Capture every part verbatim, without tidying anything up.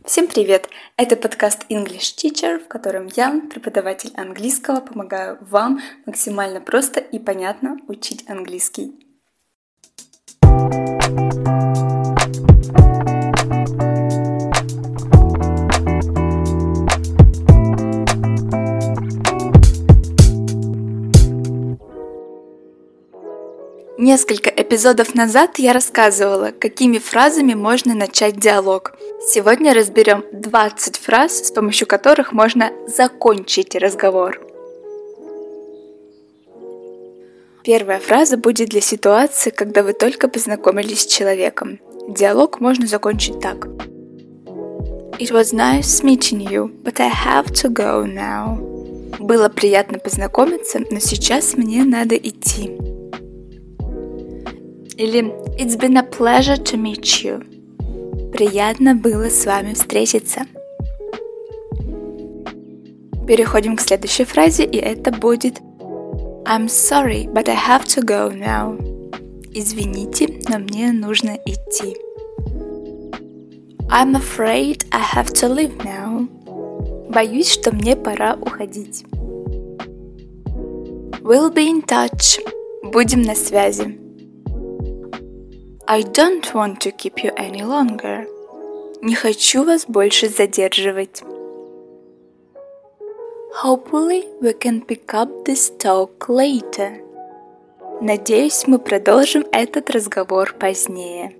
Всем привет! Это подкаст English Teacher, в котором я, преподаватель английского, помогаю вам максимально просто и понятно учить английский. Несколько эпизодов назад я рассказывала, какими фразами можно начать диалог. Сегодня разберем двадцать фраз, с помощью которых можно закончить разговор. Первая фраза будет для ситуации, когда вы только познакомились с человеком. Диалог можно закончить так. It was nice meeting you, but I have to go now. Было приятно познакомиться, но сейчас мне надо идти. Или It's been a pleasure to meet you. Приятно было с вами встретиться. Переходим к следующей фразе, и это будет I'm sorry, but I have to go now. Извините, но мне нужно идти. I'm afraid I have to leave now. Боюсь, что мне пора уходить. We'll be in touch. Будем на связи. I don't want to keep you any longer. Не хочу вас больше задерживать. Hopefully we can pick up this talk later. Надеюсь, мы продолжим этот разговор позднее.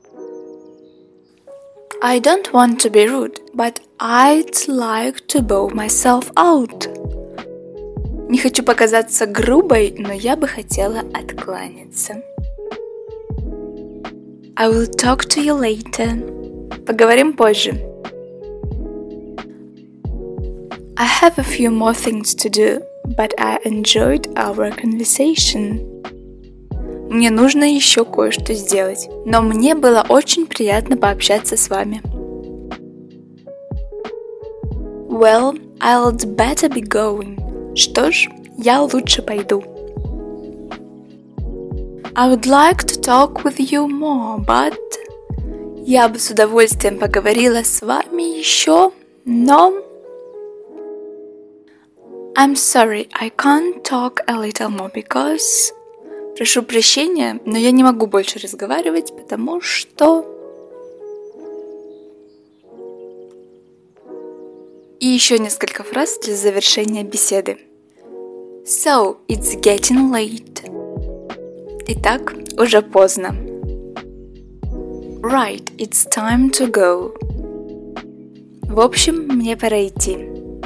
I don't want to be rude, but I'd like to bow myself out. Не хочу показаться грубой, но я бы хотела откланяться. I will talk to you later. Поговорим позже. I have a few more things to do, but I enjoyed our conversation. Мне нужно еще кое-что сделать, но мне было очень приятно пообщаться с вами. Well, I'd better be going. Что ж, я лучше пойду. I would like to talk with you more, but... Я бы с удовольствием поговорила с вами еще, но... I'm sorry, I can't talk a little more because... Прошу прощения, но я не могу больше разговаривать, потому что... И еще несколько фраз для завершения беседы. So, it's getting late. Итак, уже поздно. Right, it's time to go. В общем, мне пора идти.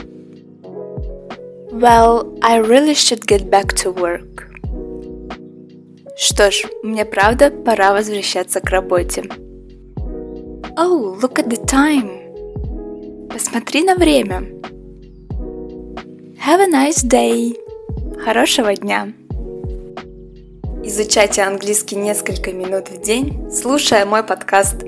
Well, I really should get back to work. Что ж, мне правда пора возвращаться к работе. Oh, look at the time. Посмотри на время. Have a nice day. Хорошего дня. Изучайте английский несколько минут в день, слушая мой подкаст